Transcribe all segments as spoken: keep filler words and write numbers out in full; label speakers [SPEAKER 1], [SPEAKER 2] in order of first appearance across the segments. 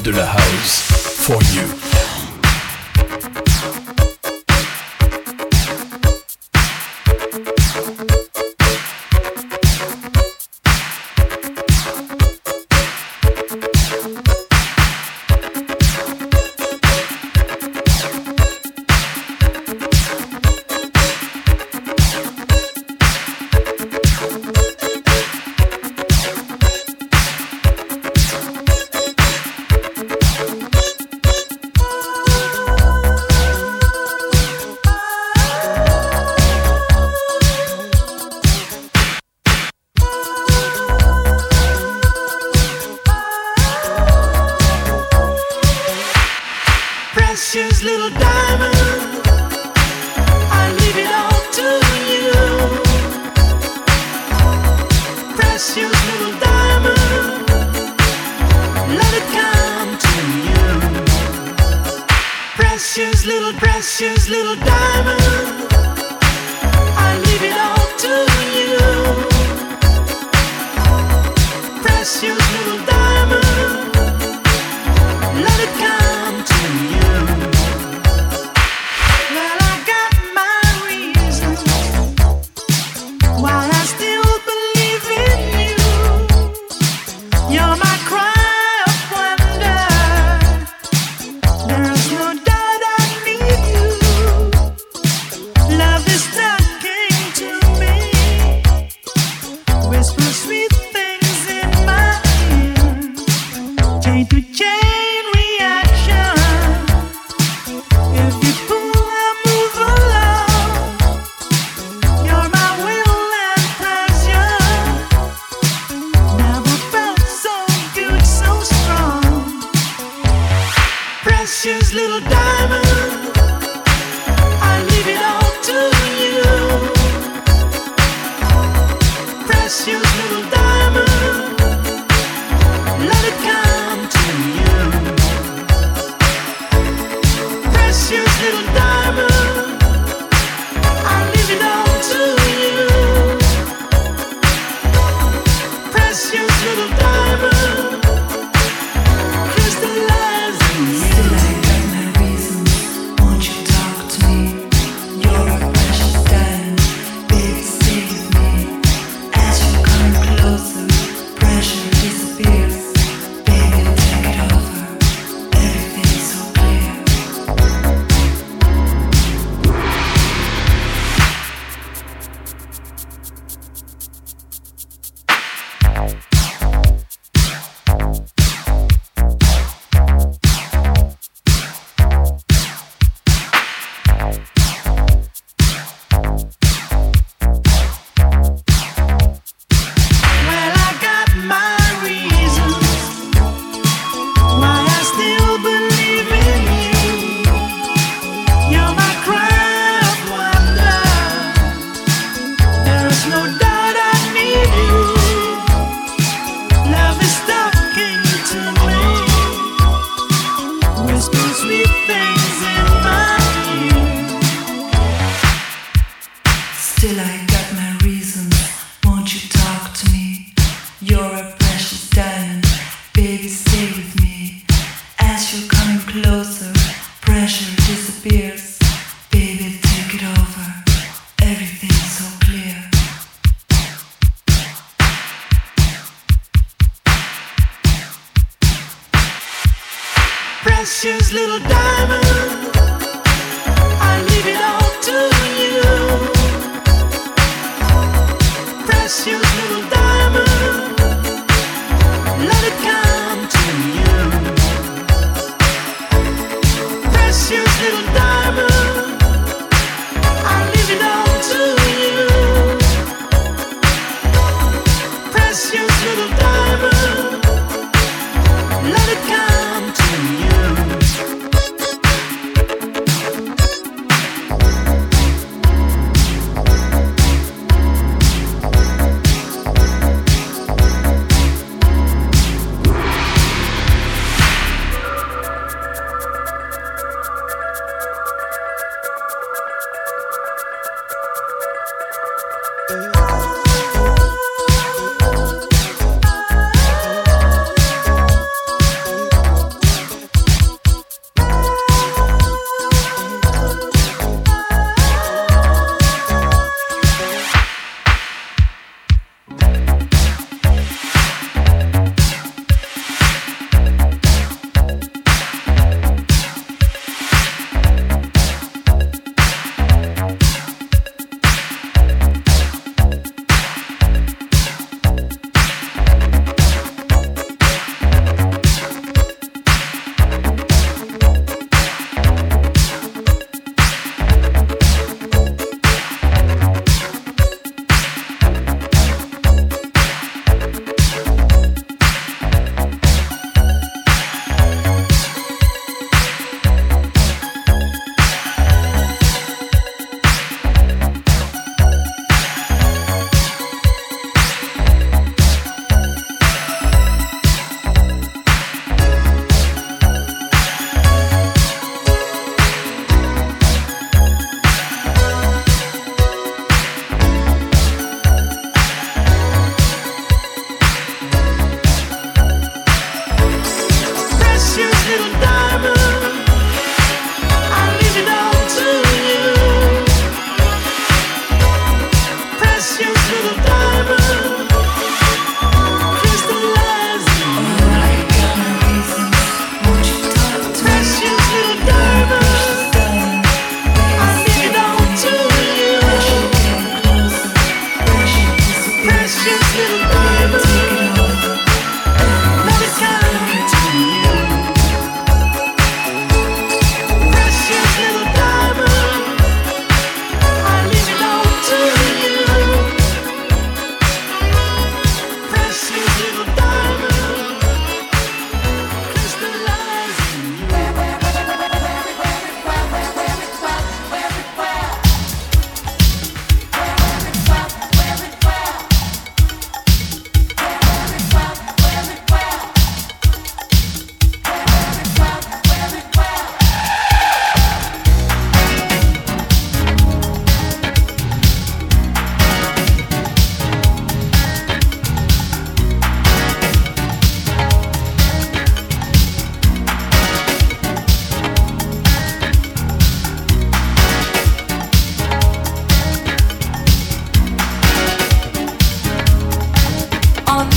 [SPEAKER 1] de la house for you.
[SPEAKER 2] Precious little diamond, I leave it all to you. Precious little diamond, let it come to you. Precious little, precious little diamond, I leave it all to you. Precious little diamond, let it come to you. Well, I got my reasons why I still believe in you. You're my cry of wonder. There's no doubt I need you. Love is talking to me. Whisper sweet things in my ear.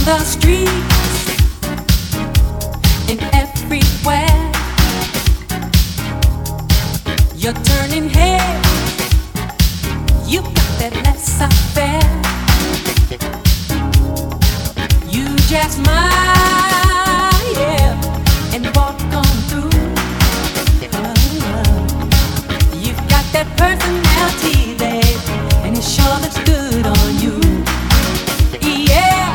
[SPEAKER 3] the streets and everywhere. You're turning heads. You got that laissez-faire. You just smile, yeah, and walk on through. Oh, you've got that personality, babe, and it sure looks good on you. Yeah,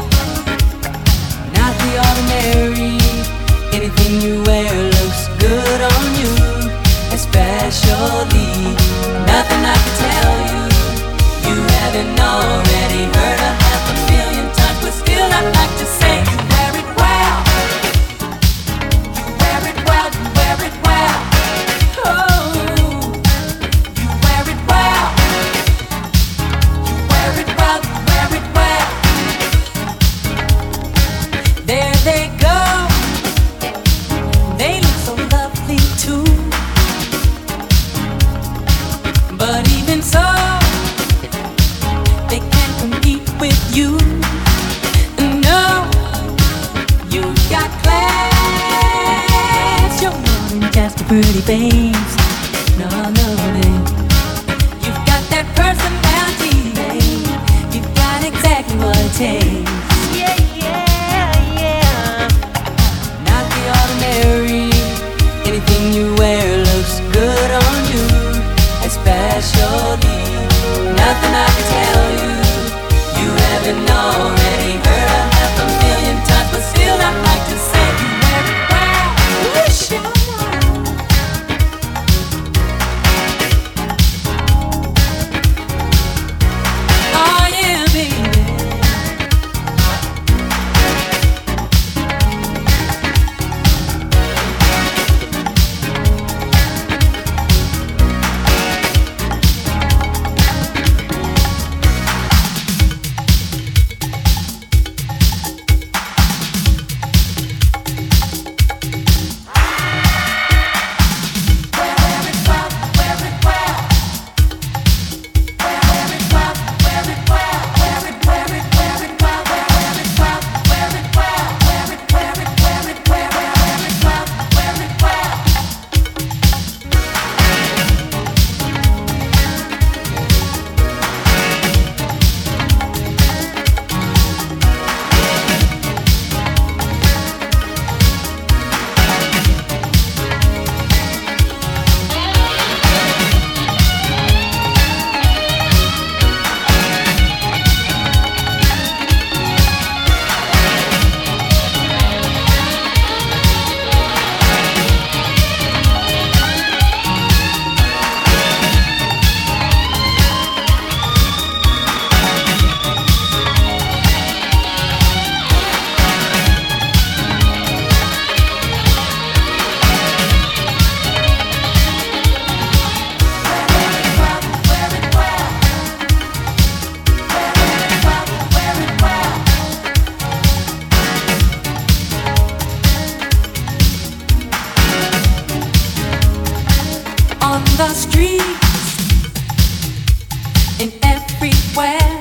[SPEAKER 3] not the ordinary. Anything you wear looks good on you, especially nothing I can tell you you haven't already heard a half a million times, but still I'd like to say you wear it well. You wear it well, you wear it well. Oh, you wear it well. You wear it well, you wear it well. There they go. They look so lovely too. But even so, they can't compete with you. No, you've got class. You're more than just a pretty face. No, no, babe. You've got that personality, babe. You've got exactly what it takes. Yeah, yeah, yeah. Not the ordinary. Anything you wear looks good on you, especially nothing I can tell you you haven't already heard a half a million times, but still I'd like to say you wear it well. Wish you oh yeah, baby. On the streets and everywhere,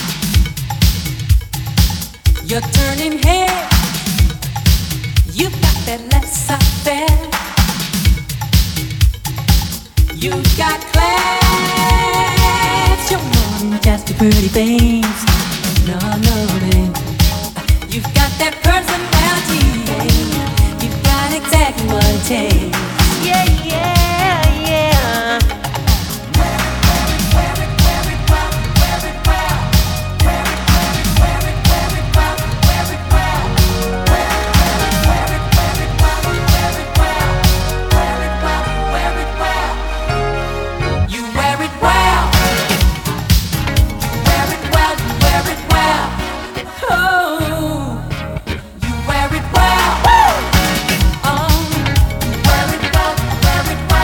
[SPEAKER 3] you're turning heads. You've got that laissez-faire. You've got class. You're more than just a pretty face. No, no, babe. You've got that personality, babe. You've got exactly what it takes. Yeah, yeah.
[SPEAKER 2] Wear it well.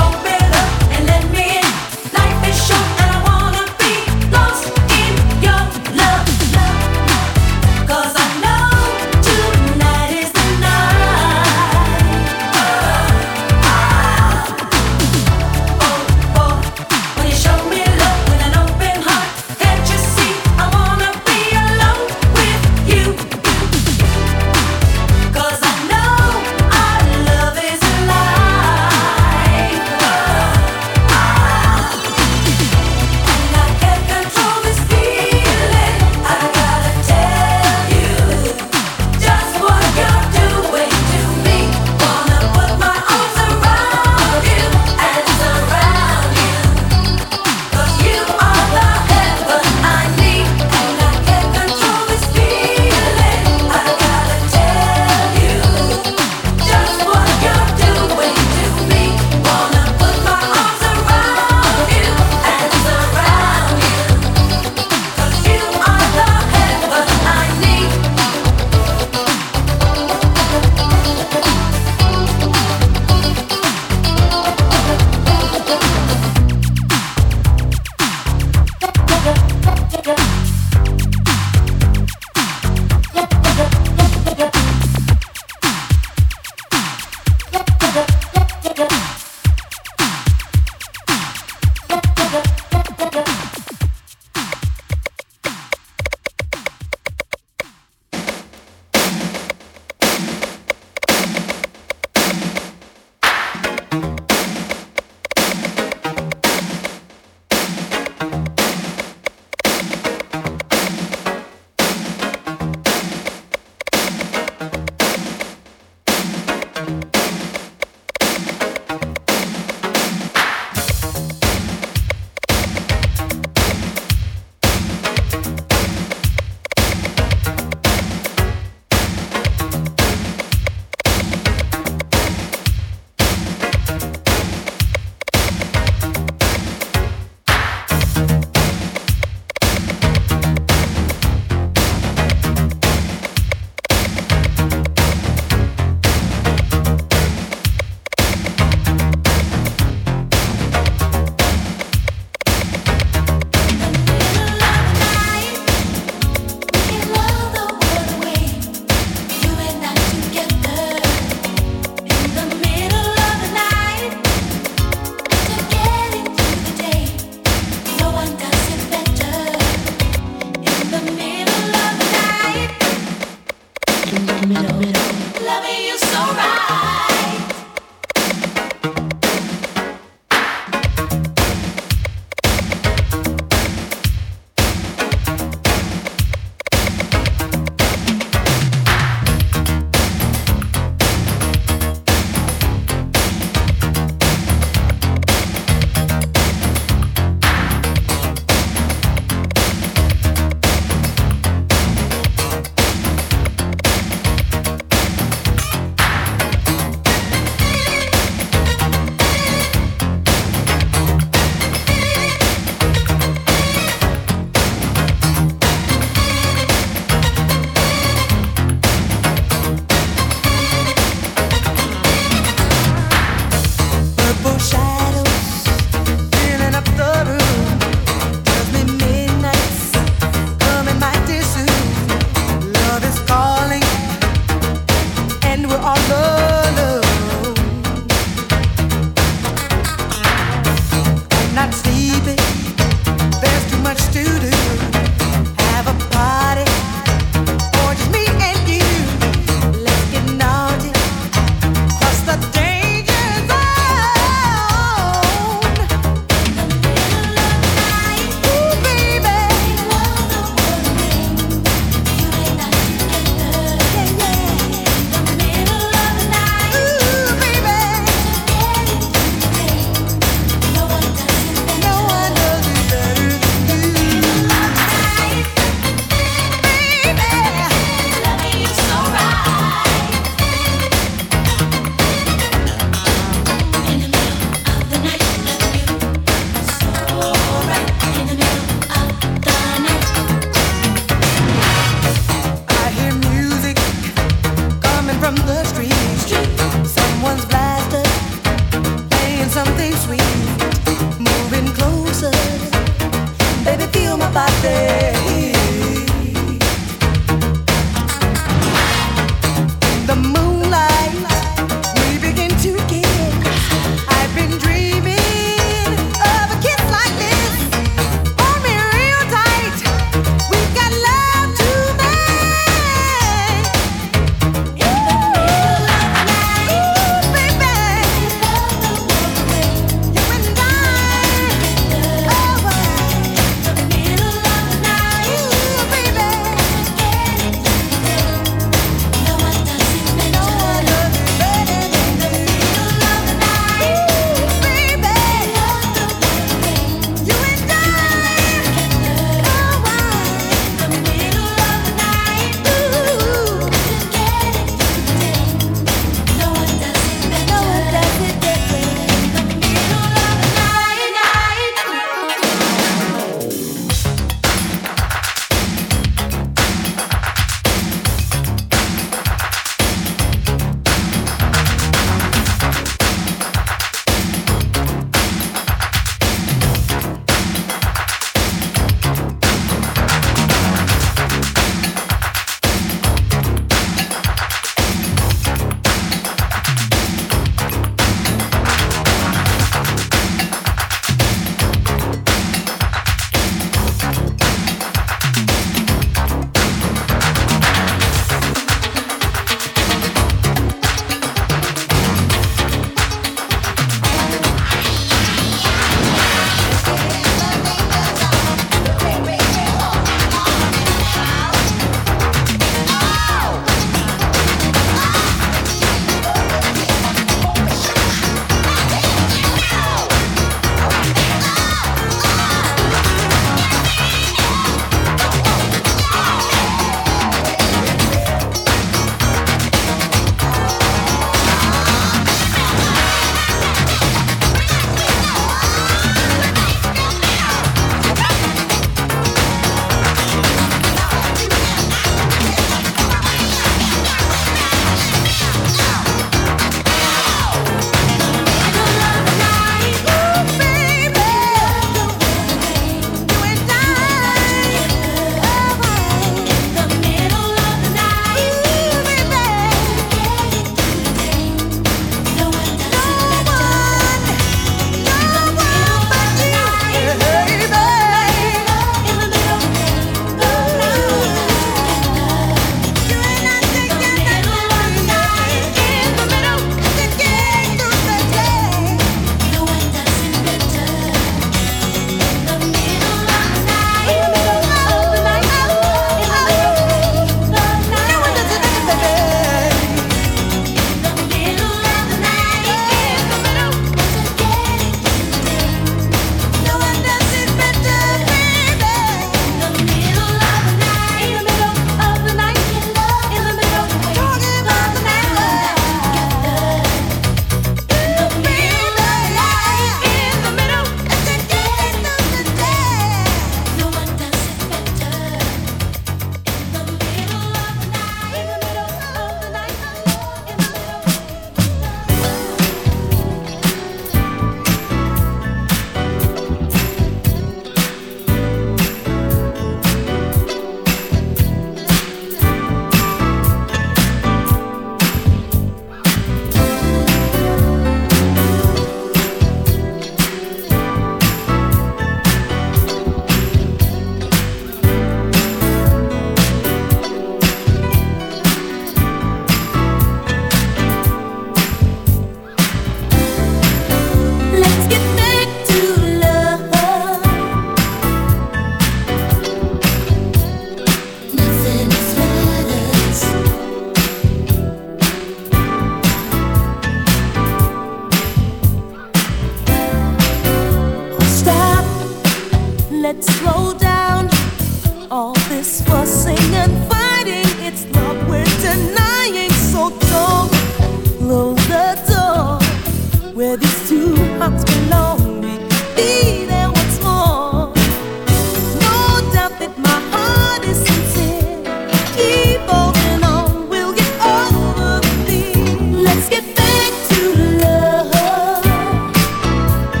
[SPEAKER 4] Let's get back to love.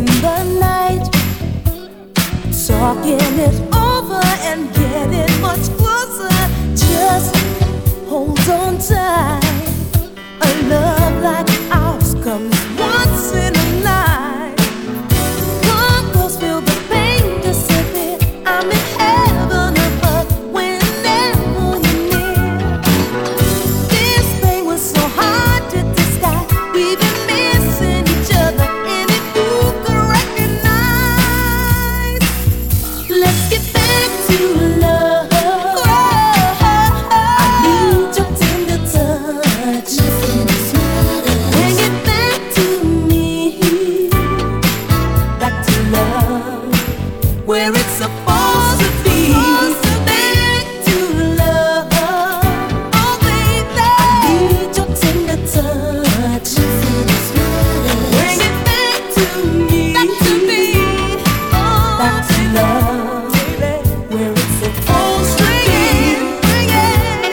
[SPEAKER 4] in the night, talking it over and getting much closer. Just hold on tight. A love like ours comes once in a life. Come close, feel the pain disappear. I'm in heaven above whenever you're near. This pain was so hard to disguise. We've been missing each other, and if you could recognize, let's get back to love. I need your tender touch. Bring it back to me, back to love, where it's supposed to be. Back to love, oh baby. I need your tender touch. Bring it back to me, back to me, oh, back to love, where it's supposed to be. Bring it,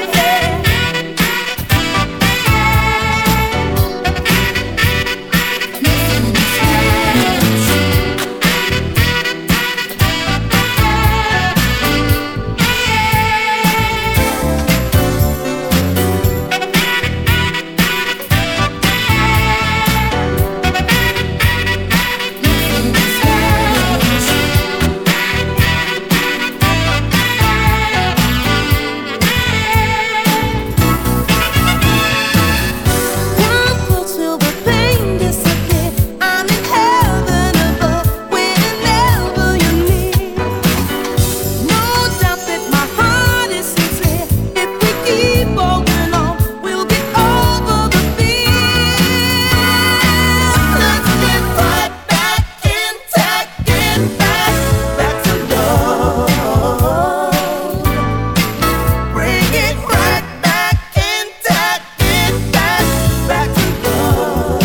[SPEAKER 4] come close, feel the pain disappear. I'm in heaven above whenever you're near. No doubt that my heart is sincere. If we keep holding on, we'll get over the fear. Let's get right back intact, get back, back to love. Bring it right back intact, get back, back to love.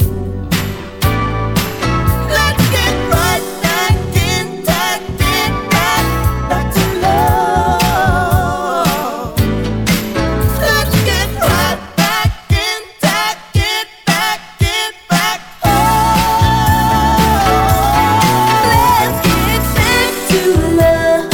[SPEAKER 4] Let's get right back intact, get back, back to love. Let's get right back intact, get back, get back. Oh, let's get back to love.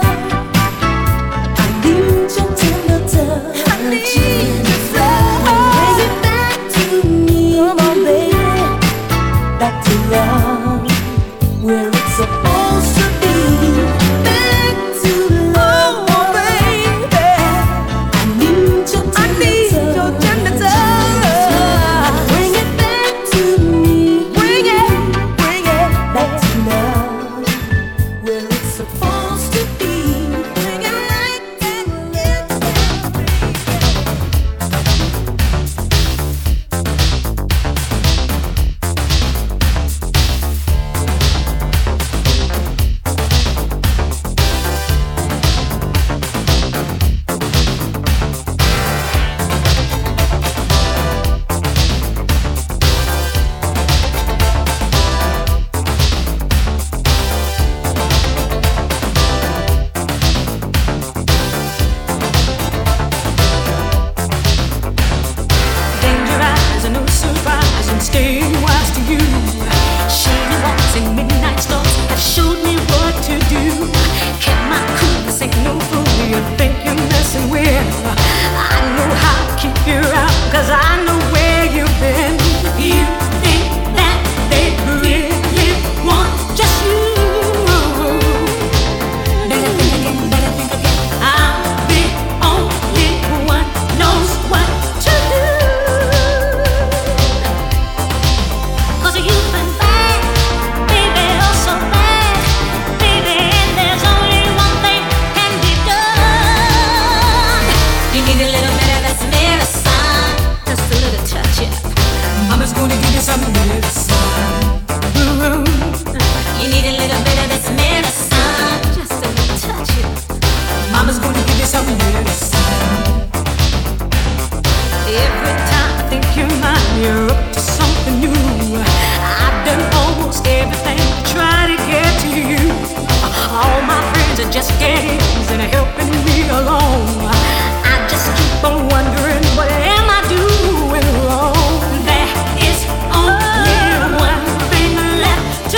[SPEAKER 4] I need your tender touch. I need your love. Bring it back to me, come on, baby. Back to love, where it's supposed to be. Back to love, oh, baby. I need your tender touch. Bring it back to me. Bring it, bring it back to love, where it's supposed to be. Bring it right back, yeah.
[SPEAKER 3] Danger eyes, a no surprise, and stay wise to you. Shady walks and midnight stars have showed me what to do. Kept my cool, this ain't no fool. You think you're messing with? I know how to keep you out, 'cause I know where you've been. You think that they really want just you. Better think again, better think again. I'm the only one knows what to do. 'Cause you've been bad, baby, oh so bad, baby, and there's only one thing can be done. You need a little bit of this medicine, just a little touch, yeah. Mama's gonna give you some medicine. Ooh. You need a little bit of this medicine, just a little touch, yeah. Mama's gonna give you some medicine. Every time I think you're mine, you're up to something new. I've done almost everything to try to get to you. All my friends are just games and are helping me along. I just keep on wondering, what am I doing wrong? There is only one thing left to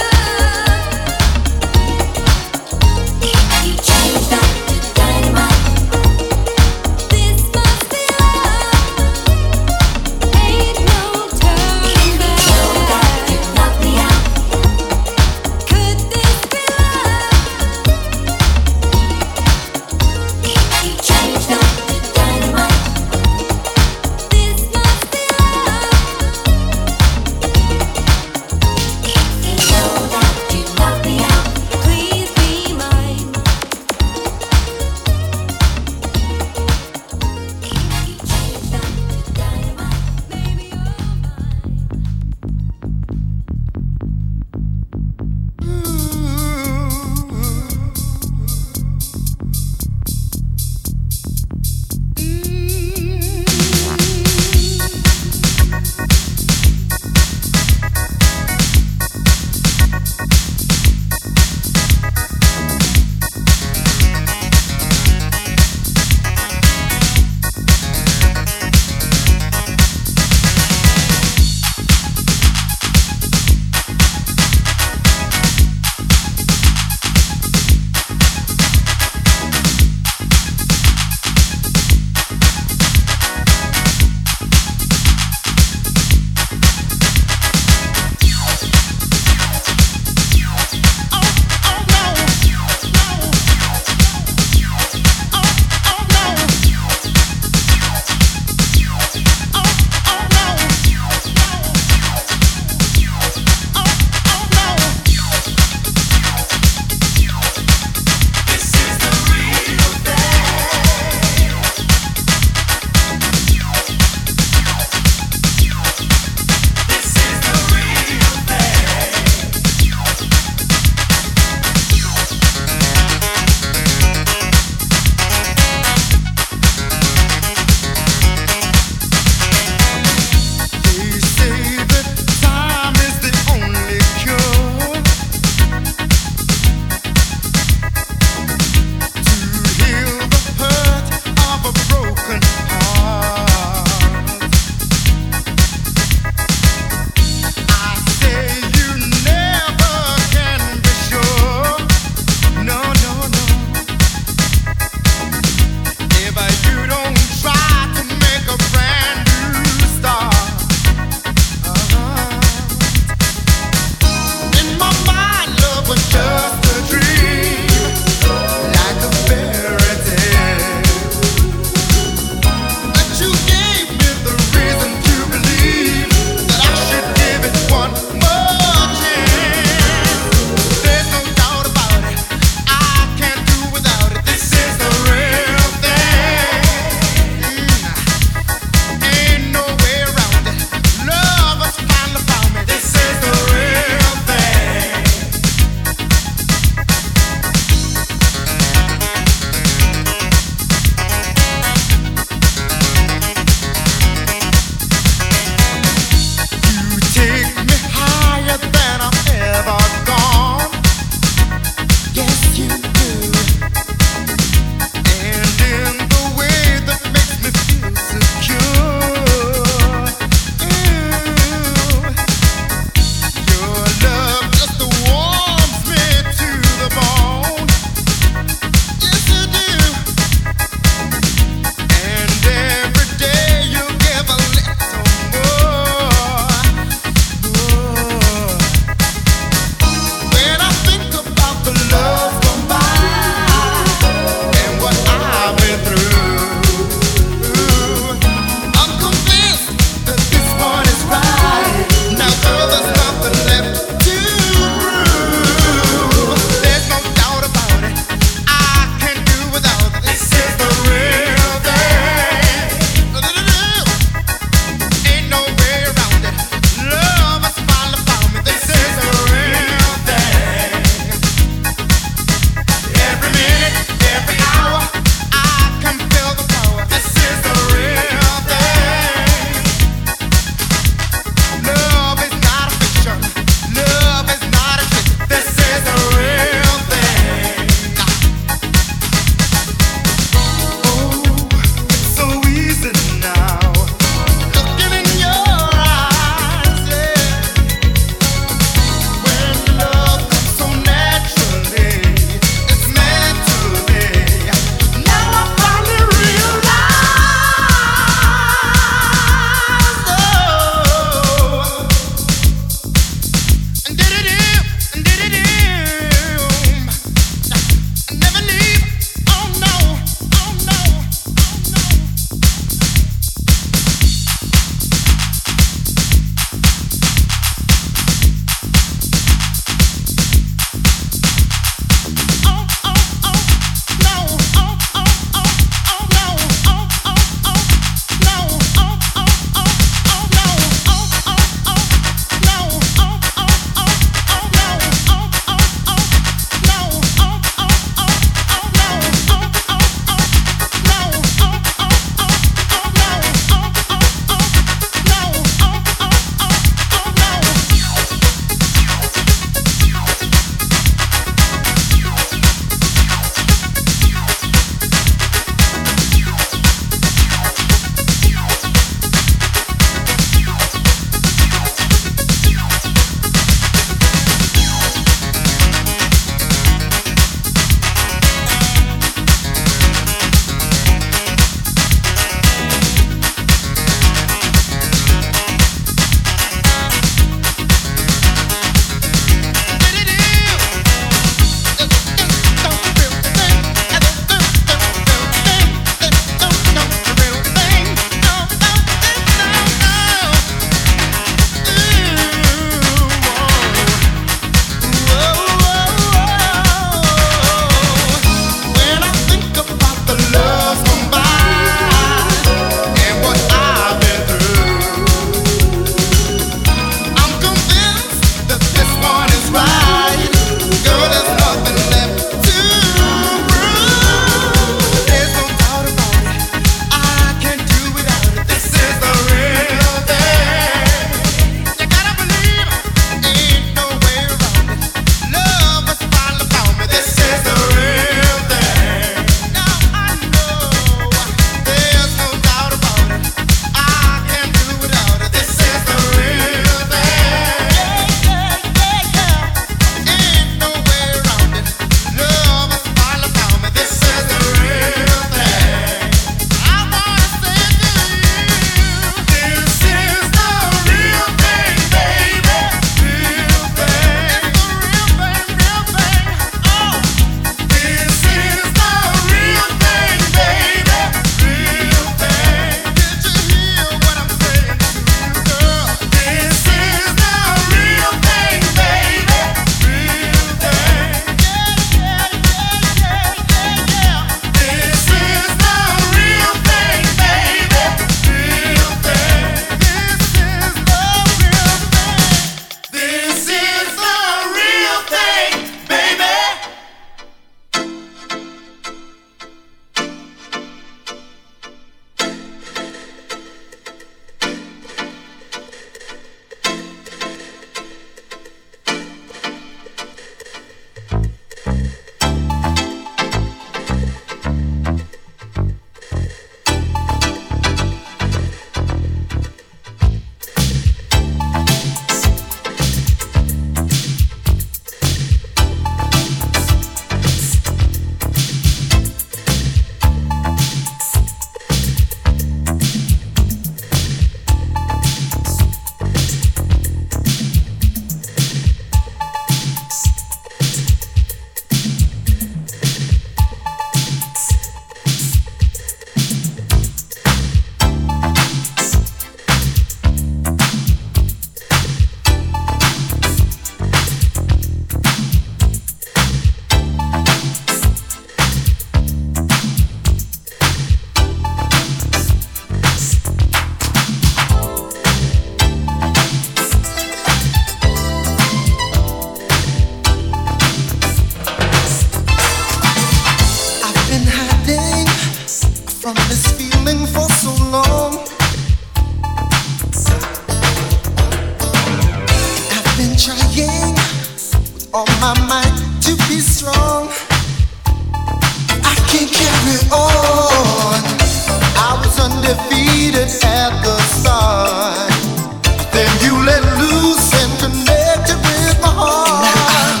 [SPEAKER 5] me on. I was undefeated at the start. Then you let loose and connected with my heart.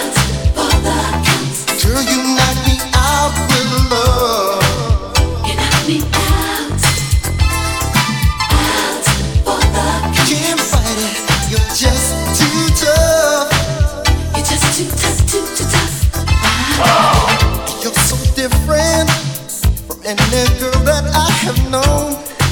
[SPEAKER 5] Girl, you knocked me out with love.
[SPEAKER 4] You knocked me out, out for the count.
[SPEAKER 5] Can't fight it, you're just too tough.
[SPEAKER 4] You're just too tough, too, too tough.
[SPEAKER 5] You're so different from any girl that I have known.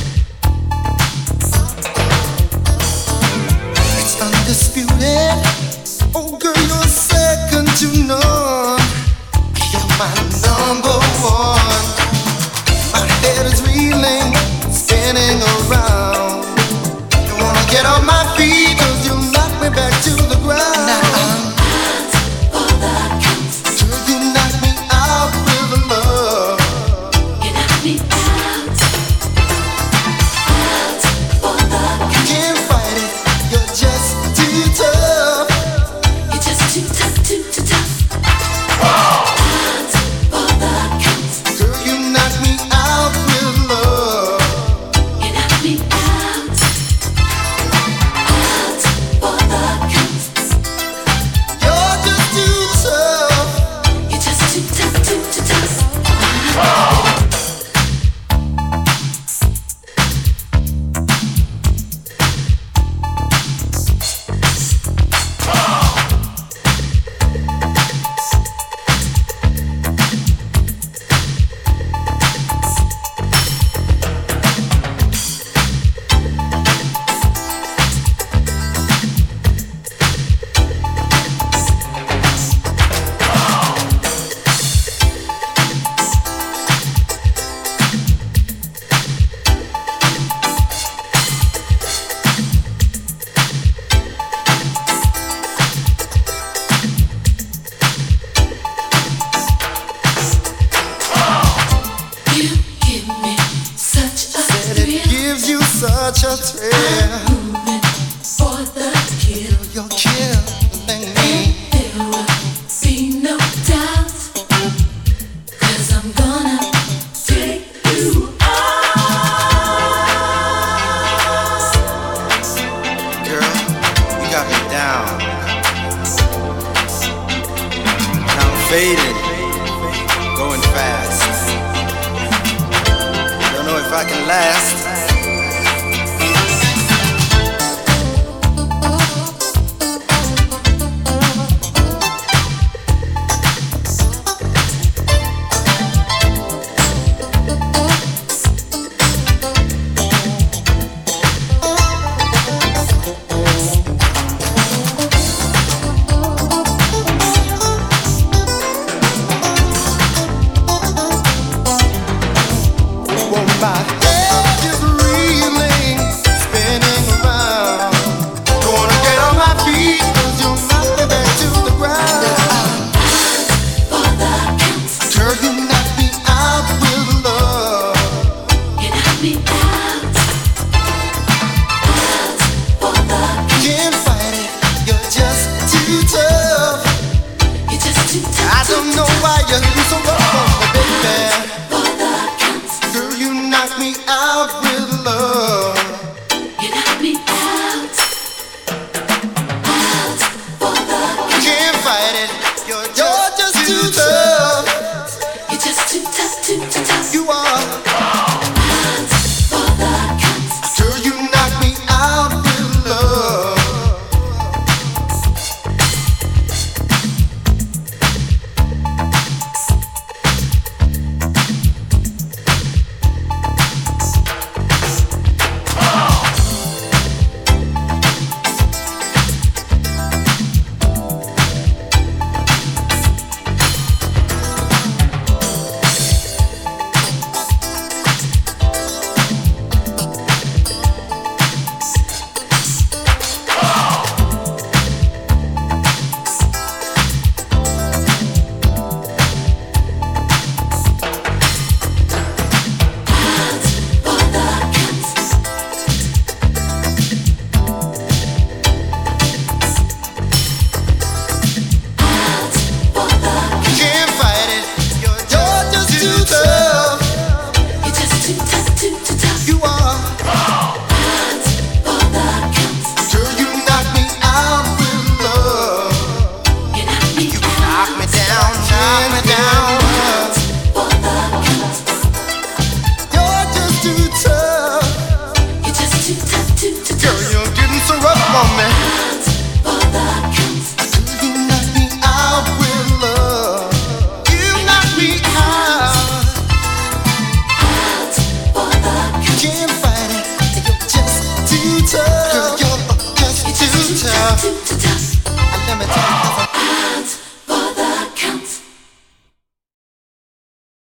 [SPEAKER 5] It's undisputed. Oh girl, you're second to none. You're my number one. My head is reeling, spinning around. You wanna get on my feet, cause you knock me back to the ground.
[SPEAKER 4] Out for the count.
[SPEAKER 5] Girl, you knock me out with love.
[SPEAKER 4] You knocked me out, out for the count.
[SPEAKER 5] Can't fight it, you're just too tough.
[SPEAKER 4] You're just too tough, too, too tough. Out for the count.
[SPEAKER 5] Girl, you knock me out with love.
[SPEAKER 4] You knocked me out, out for the count.
[SPEAKER 5] You're just too tough.
[SPEAKER 4] You're just too tough, too, too tough. You give me such a
[SPEAKER 5] And it
[SPEAKER 4] thrill.
[SPEAKER 5] gives you such a thrill.
[SPEAKER 4] Moving for the kill.
[SPEAKER 5] You're killing me.
[SPEAKER 4] There will be no doubt. Cause I'm gonna take you out.
[SPEAKER 5] Girl, you got me down. And I'm fading, going fast. Don't know if I can last. Well, my head is reeling, spinning around. Don't wanna get on my feet, cause you'll knock me back to the ground.
[SPEAKER 4] For the count.
[SPEAKER 5] Girl, you knock me out with love.
[SPEAKER 4] You knocked me out, out for the count.
[SPEAKER 5] Can't fight it, you're just too tough.
[SPEAKER 4] You're just too tough.
[SPEAKER 5] I don't know why you're so rough on me, baby.
[SPEAKER 4] For the count.
[SPEAKER 5] Girl, you knock me out with love.
[SPEAKER 4] You knocked me out, out for the count.
[SPEAKER 5] Can't fight it, you're just, just too tough.
[SPEAKER 4] You're just too tough, too, too tough.
[SPEAKER 5] You are.
[SPEAKER 4] Out for the count.
[SPEAKER 5] Girl, you knock me out with love. to turn.